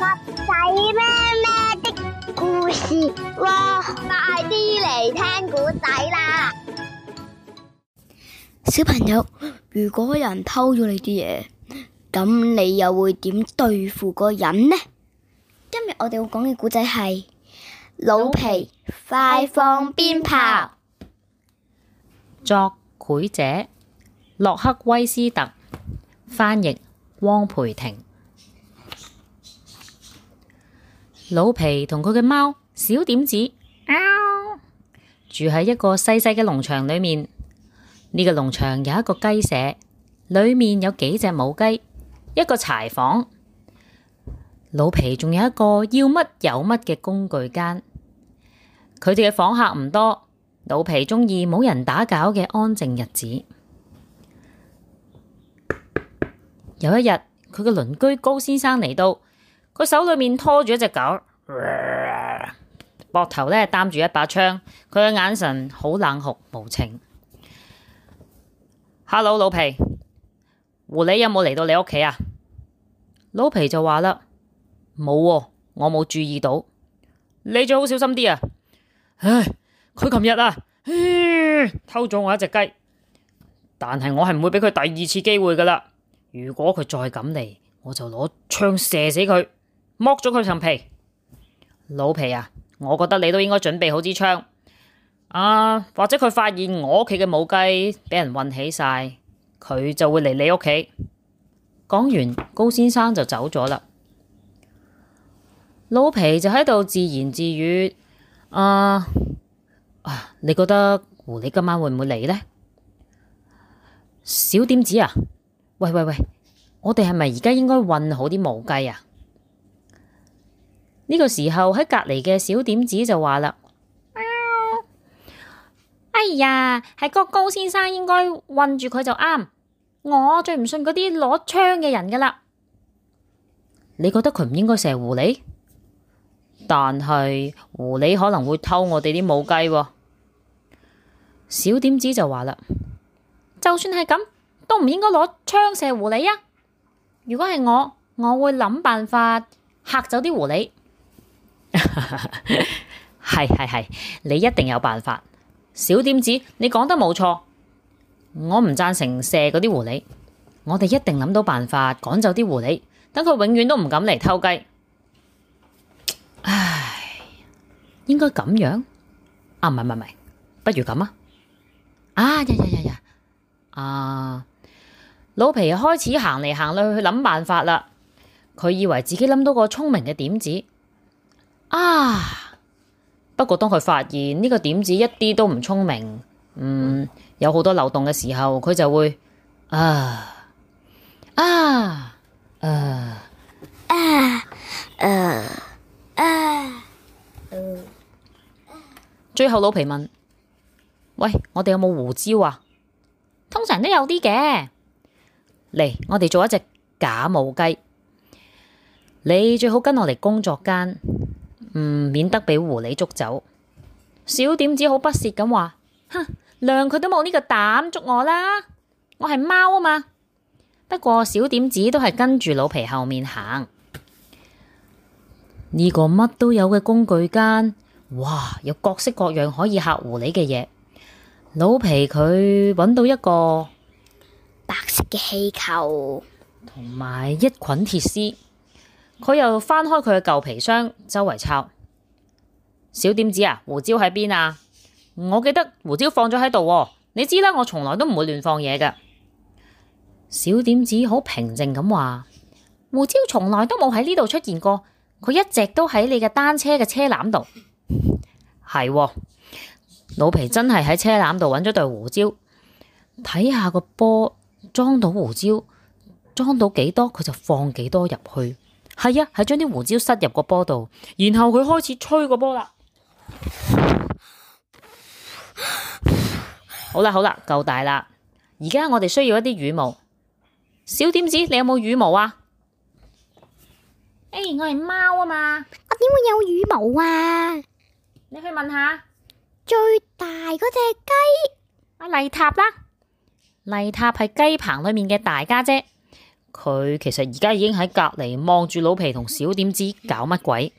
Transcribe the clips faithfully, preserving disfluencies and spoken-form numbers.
仔咩咩的故事喎，快啲嚟聽古仔啦！ 小朋友，如果有人偷咗你啲嘢，咁你又會點對付個人呢？今日我哋會講嘅古仔係老皮快放鞭炮。 作繪者洛克威斯特，翻譯汪培珽。老皮同佢嘅貓小點子住喺一個細細嘅農場裏面。呢個農場有一個雞舍，裏面有幾隻母雞，一個柴房。老皮仲有一個要乜有乜嘅工具間。佢哋嘅訪客唔多，老皮中意冇人打攪嘅安靜日子。有一日，佢嘅鄰居高先生嚟到，佢手裏面拖住一隻狗，膊頭呢擔住一把槍，佢嘅眼神好冷酷無情。Hello， 老皮，狐狸有冇嚟到你屋企啊？老皮就話啦，冇喎，我冇注意到。你最好小心啲啊！唉，佢琴日啊，偷咗我一隻雞，但係我係唔會俾佢第二次機會噶啦。如果佢再敢嚟，我就攞槍射死佢，剝咗佢層皮。老皮啊，我覺得你都應該準備好支槍。啊，或者佢發現我屋企嘅母雞俾人韞起晒，佢就會嚟你屋企。講完，高先生就走咗啦。老皮就喺度自言自語：啊啊，你覺得狐狸今晚會唔會嚟呢？小點子啊，喂喂喂，我哋係咪而家應該韞好啲母雞啊？呢個時候喺隔籬嘅小點子就話啦。哎呀，係個高先生應該韞住佢就啱。我最唔信嗰啲攞槍嘅人噶啦。你覺得佢唔應該射狐狸？但係狐狸可能會偷我哋啲母雞喎。小點子就話啦，就算係咁，都唔應該攞槍射狐狸啊！如果係我，我會諗辦法嚇走啲狐狸。係係係，你一定有辦法。小點子，你講得冇錯，我唔贊成射嗰啲狐狸，我哋一定諗到辦法趕走啲狐狸，等佢永遠都唔敢嚟偷雞。唉，應該咁樣啊？唔係唔係唔係，不如咁啊！啊呀呀呀呀！啊，老皮開始行嚟行去去諗辦法啦。佢以為自己諗到個聰明嘅點子啊！不過當佢發現呢個點子一啲都唔聰明，嗯，有好多漏洞嘅時候，佢就會啊啊啊啊啊啊！最後老皮問：喂，我哋有冇胡椒啊？通常都有啲嘅。嚟，我哋做一隻假母雞。你最好跟我嚟工作間。嗯，免得俾狐狸捉走。小點子好不屑咁話：哼，量佢都冇呢個膽捉我啦，我係貓啊嘛。不過小點子都係跟住老皮後面行。呢個乜都有嘅工具間，哇，有各式各樣可以嚇狐狸嘅嘢。老皮佢揾到一個白色嘅氣球， 同埋一捆鐵絲。佢又翻開佢嘅舊皮箱，周圍抄。小點子啊，胡椒喺邊啊？我記得胡椒放咗喺度，你知啦，我從來都唔會亂放嘢㗎。小點子好平靜咁話：胡椒從來都冇喺呢度出現過，佢一直都喺你嘅單車嘅車籃度。係，老皮真係喺車籃度揾咗對胡椒，睇下個波裝到胡椒，裝到幾多佢就放幾多入去。係啊，係將啲胡椒塞入個波度，然後佢開始吹個波啦。好啦好啦，夠大啦。而家我哋需要一啲羽毛。小點子，你有冇羽毛啊？誒、欸，我係貓啊嘛， 我點會有羽毛啊？ 你去問下最大嗰隻雞， 阿麗塔啦。麗塔係雞棚裏面嘅大家姐。 佢其實而家已經喺隔籬望住老皮同小點子搞乜鬼。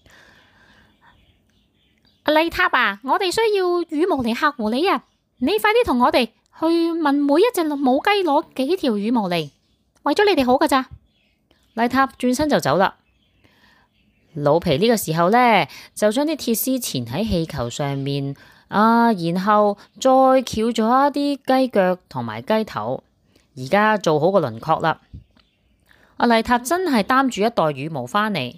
麗塔啊，我哋需要羽毛嚟嚇狐狸啊！你快啲同我哋去問每一隻母雞攞幾條羽毛嚟，為咗你哋好噶咋。麗塔轉身就走啦。老皮呢個時候呢，就將啲鐵絲纏喺氣球上面啊，然後再翹咗一啲雞腳同埋雞頭，而家做好個輪廓啦。阿麗塔真係擔住一袋羽毛返嚟，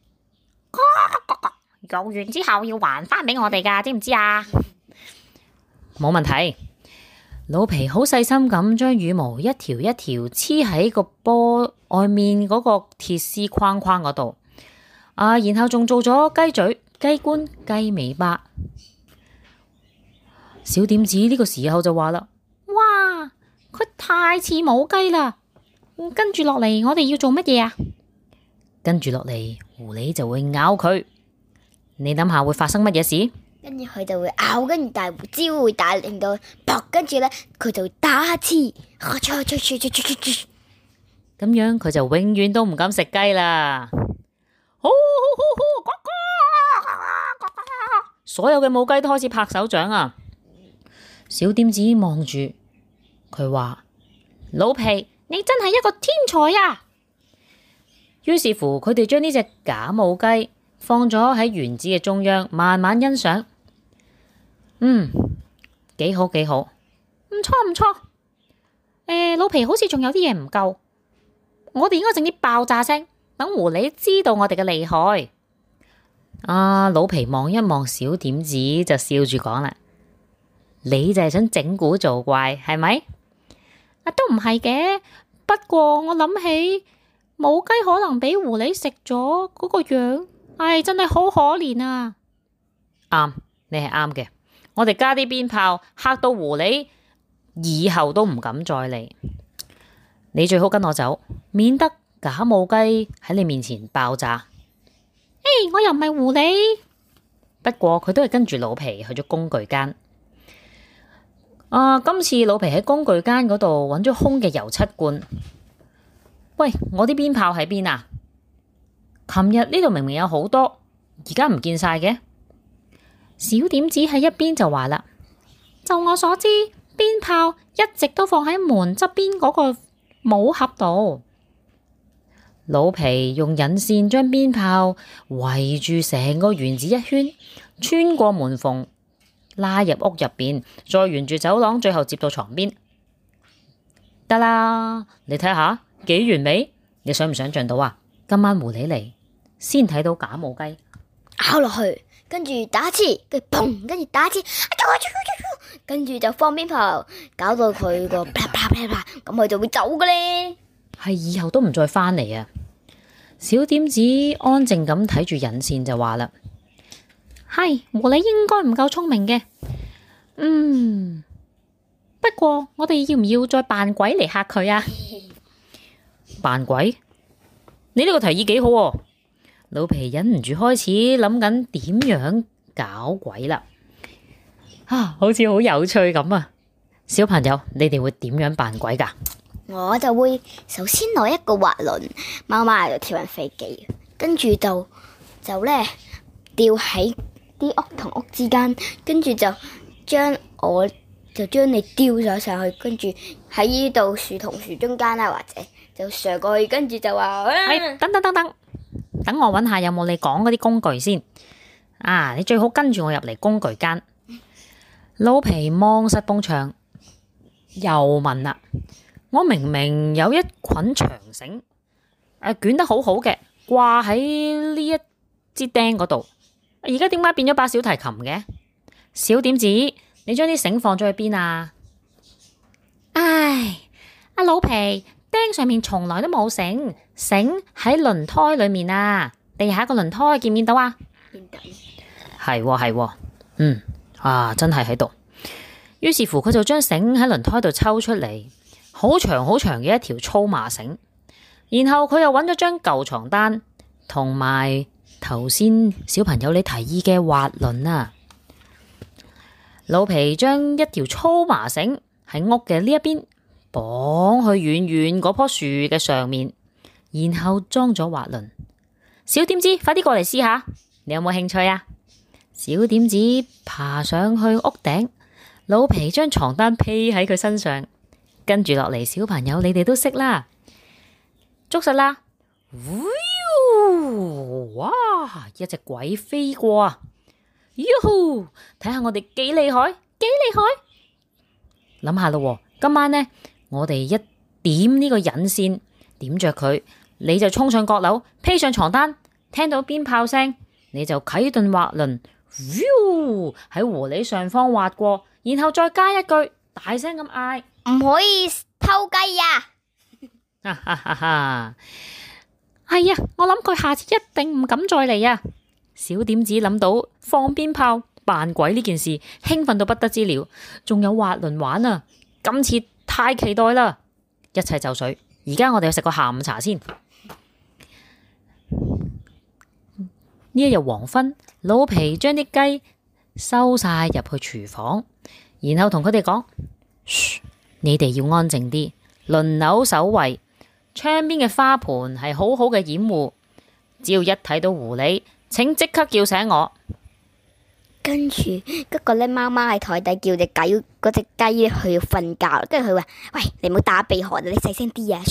用完之後要還返俾我哋噶，知唔知啊？冇問題。老皮好細心咁將羽毛一條一條黐喺個波外面嗰個鐵絲框框嗰度，啊，然後仲做咗雞嘴、雞冠、雞尾巴。小點子呢個時候就話啦：哇，佢太似母雞啦！跟住落嚟，我哋要做乜嘢啊？跟住落嚟，狐狸就會咬佢。你諗下會發生乜嘢事？ 跟住佢就會咬，跟住大胡椒會大令到撲，跟住咧佢就會打刺，咁樣佢就永遠都唔敢食雞啦。所有嘅母雞都開始拍手掌啊！小點子望住佢話：老皮，你真係一個天才啊！於是乎，佢哋將呢隻假母雞放咗喺園子嘅中央，慢慢欣賞。嗯，幾好幾好，唔錯唔錯。誒，老皮好似仲有啲嘢唔夠，我哋應該整啲爆炸聲，等狐狸知道我哋嘅厲害。啊，老皮望一望小點子，就笑住講啦：你就係想整蠱做怪，係咪？啊，都唔係嘅，不過我諗起母雞可能俾狐狸食咗嗰個樣，唉，真係好可憐啊！啱，你係啱嘅。我哋加啲鞭炮，嚇到狐狸以後都唔敢再嚟。你最好跟我走，免得假母雞喺你面前爆炸。誒，我又唔係狐狸。不過佢都係跟住老皮去咗工具間。啊，今次老皮喺工具間嗰度揾咗空嘅油漆罐。喂，我啲鞭炮喺邊啊？琴日呢度明明有好多，而家唔見晒嘅。小點子喺一邊就話啦：就我所知，鞭炮一直都放喺門側邊嗰個帽盒度。老皮用引線將鞭炮圍住成個園子一圈，穿過門縫，拉入屋入邊，再沿住走廊，最後接到床邊。得啦，你睇下幾完美？你想唔想象到啊？今晚狐狸嚟，先睇到假母雞咬落去，跟住打刺，跟住砰，跟住打刺，跟住就放鞭炮，搞到佢個啪啪啪啪，咁佢就會走嘅咧。 係以後都唔再返嚟啊！小點子安靜咁睇住引線就話啦：係狐狸應該唔夠聰明嘅。嗯，不過我哋要唔要再扮鬼嚟嚇佢啊？扮鬼？你呢個提議幾好喎！老皮忍唔住開始諗緊點樣搞鬼啦。啊，好似好有趣咁啊！小朋友，你哋會點樣扮鬼噶？ 我就會首先攞一個滑輪，貓貓喺度跳緊飛機，跟住就就咧吊喺啲屋同屋之間，跟住就將我就將你吊咗上去，跟住喺呢度樹同樹中間啦，或者就上過去，跟住就話， 哎，等等等等，等我搵下有冇你講嗰啲工具先。啊，你最好跟住我入嚟工具間。老皮望實埲牆，又問啦。我明明有一捆長繩，誒，捲得好好嘅，掛喺呢一支釘嗰度，而家點解變咗把小提琴嘅？小點子，你將啲繩放咗去邊啊？唉，阿老皮，釘上面從來都冇繩，繩喺輪胎裏面啊，地下個輪胎見唔見到啊？見到。係喎係喎，嗯，啊，真係喺度。於是乎，佢就將繩喺輪胎度抽出嚟。好長好長嘅一條粗麻繩，然後佢又揾咗張舊床單，同埋頭先小朋友你提議嘅滑輪啊。老皮將一條粗麻繩喺屋嘅呢一邊綁去遠遠嗰棵樹嘅上面，然後裝咗滑輪。小點子，快啲過嚟試下，你有冇興趣啊？小點子爬上去屋頂，老皮將床單披喺佢身上，跟住落嚟，小朋友你哋都識啦，捉實啦！哇！一隻鬼飛過啊！喲吼！睇下我哋幾厲害，幾厲害！諗下咯，今晚呢，我哋一點呢個引線，點着佢，你就衝上閣樓，披上床單，聽到鞭炮聲，你就啟動滑輪，喺狐狸上方滑過，然後再加一句，大聲咁嗌： 唔可以偷雞呀！ 哈哈哈哈！係啊，我諗佢下次一定唔敢再嚟啊！小點子諗到放鞭炮扮鬼呢件事，興奮到不得之了，仲有滑輪玩啊！今次太期待啦！一切就緒，而家我哋去食個下午茶先。呢一日黃昏，老皮將啲雞收晒入去廚房，然後同佢哋講：噓，你哋要安靜啲，輪流守衛。窗邊嘅花盆係好好嘅掩護，只要一睇到狐狸，請即刻叫醒我。 跟住嗰個咧，貓貓喺台底叫隻雞，嗰隻雞咧佢要瞓覺，跟住佢話：喂，你唔好打鼻鼾啊，你細聲啲啊！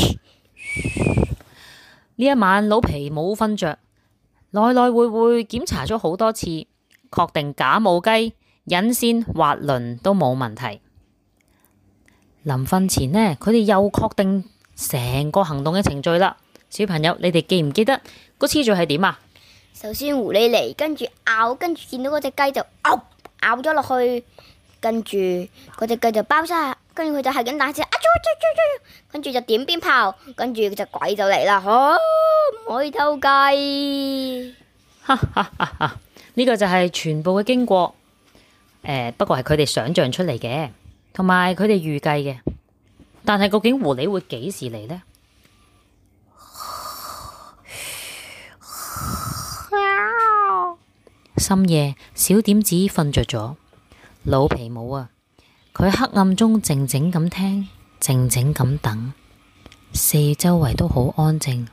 呢一晚老皮冇瞓着，來來回回檢查咗好多次，確定假母雞、引線、滑輪都冇問題。臨瞓前呢，佢哋又確定成個行動嘅程序啦。小朋友，你哋記唔記得個次序係點啊？ 首先狐狸嚟，跟住咬，跟住見到嗰隻雞就咬咬咗落去，跟住嗰隻雞就包晒，跟住佢就係咁大聲，啊啾啾啾啾，跟住就點鞭炮，跟住隻鬼就嚟啦，吓，唔可以偷雞， 哈哈哈哈！呢個就係全部嘅經過，誒、呃，不過係佢哋想象出嚟嘅，同埋佢哋預計嘅。但係究竟狐狸會幾時嚟呢？深夜，小點子瞓着咗，老皮冇啊。佢喺黑暗中靜靜咁聽，靜靜咁等，四周圍都好安靜。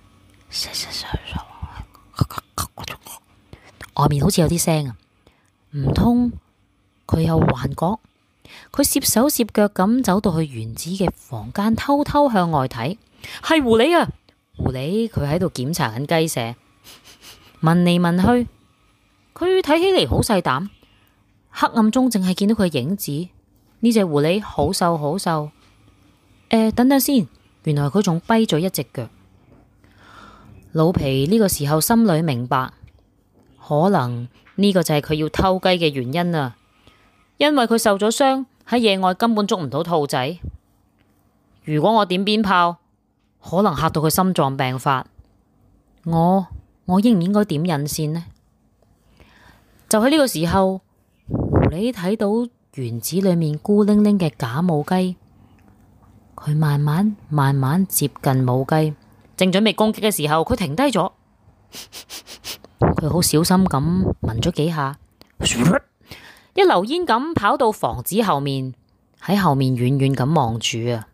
外面好似有啲聲啊，唔通佢有幻覺？佢攝手攝腳咁走到去原子嘅房間，偷偷向外睇，係狐狸啊！狐狸佢喺度檢查緊雞舍，聞嚟聞去，佢睇起嚟好細膽，黑暗中淨係見到佢嘅影子。呢隻狐狸好瘦好瘦，誒、呃，等等先，原來佢仲跛咗一隻腳。老皮呢個時候心裏明白，可能呢個就係佢要偷雞嘅原因啊！因為佢受咗傷，喺野外根本捉唔到兔仔。如果我點鞭炮，可能嚇到佢心臟病發。我我應唔應該點引線呢？就喺呢個時候，狐狸睇到園子裏面孤零零嘅假母雞，佢慢慢慢慢接近母雞，正準備攻擊嘅時候，佢停低咗。佢好小心咁聞咗幾下，一溜煙咁跑到房子後面，喺後面遠遠咁望住啊！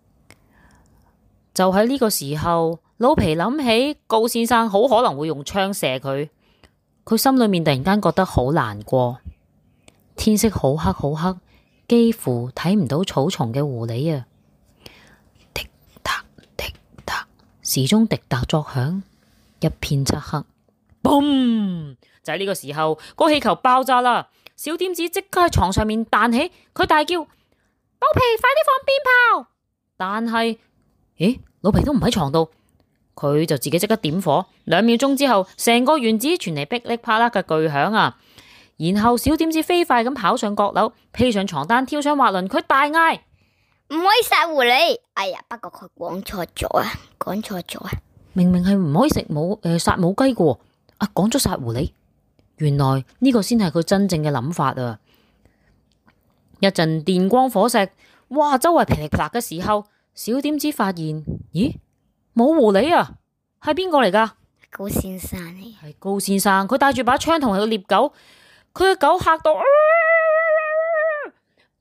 就喺呢個時候，老皮諗起高先生好可能會用槍射佢，佢心裏面突然間覺得好難過。天色好黑好黑，幾乎睇唔到草叢嘅狐狸啊！滴答滴答，時鐘滴答作響，一片漆黑。嘣！就喺呢個時候，個氣球爆炸啦！小點子即刻喺床上面彈起，佢大叫：老皮，快啲放鞭炮！但係，咦，老皮都唔喺床度，佢就自己即刻點火。兩秒鐘之後，成個園子傳嚟噼里啪啦嘅巨響啊！然後小點子飛快咁跑上閣樓，披上床單，跳上滑輪，佢大嗌： 唔可以殺狐狸！哎呀，不過佢講錯咗啊，講錯咗啊！ 明明係唔可以食母誒殺母雞嘅，啊講咗殺狐狸。原來呢個先係佢真正嘅諗法啊！一陣電光火石，哇！周圍噼里啪啦嘅時候，小點子發現，咦，冇狐狸啊，係邊個嚟噶？ 高先生嚟， 係高先生，佢帶住把槍同佢嘅獵狗，佢嘅狗嚇到，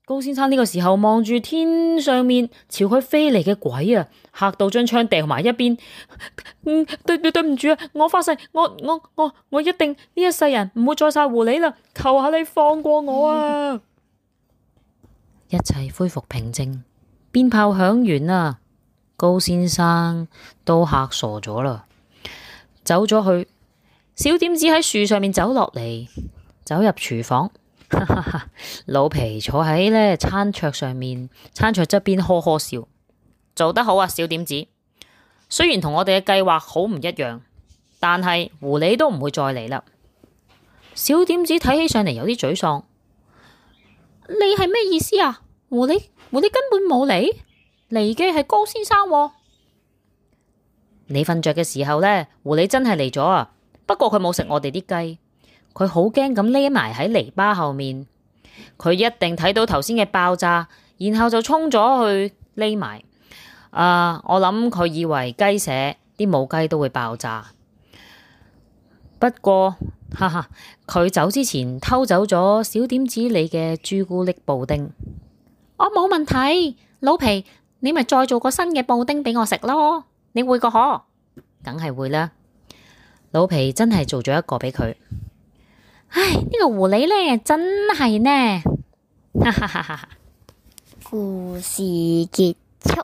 高先生呢個時候望住天上面朝佢飛嚟嘅鬼啊，嚇到將槍掉埋一邊。嗯，對對對唔住啊，我發誓，我我我我一定呢一世人唔會再殺狐狸啦，求下你放過我啊！嗯、一切恢復平靜，鞭炮響完啦，高先生都嚇傻咗啦，走咗去。小點子喺樹上面走落嚟，走入廚房。老皮坐喺呢餐桌上面，餐桌側邊呵呵笑，做得好啊，小點子。雖然同我哋嘅計劃好唔一樣，但係狐狸都唔會再嚟啦。小點子睇起上嚟有啲沮喪。你係咩意思啊？狐狸狐狸根本冇嚟，嚟嘅係高先生喎。你瞓着嘅時候呢，狐狸真係嚟咗啊！不過佢冇食我哋啲雞。佢好驚咁匿埋喺泥巴後面，佢一定睇到頭先嘅爆炸，然後就衝咗去匿埋。啊，我諗佢以為雞舍啲母雞都會爆炸。不過，哈哈，佢走之前偷走咗小點子你嘅朱古力布丁。我冇問題，老皮，你咪再做個新嘅布丁俾我食咯。你會個可？梗係會啦。老皮真係做咗一個俾佢。唉，呢個狐狸呢，真係呢，哈哈哈哈！ 故事結束。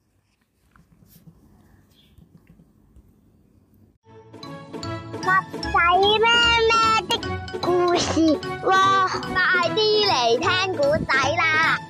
襪仔咩咩的故事，哇！快啲嚟聽古仔啦！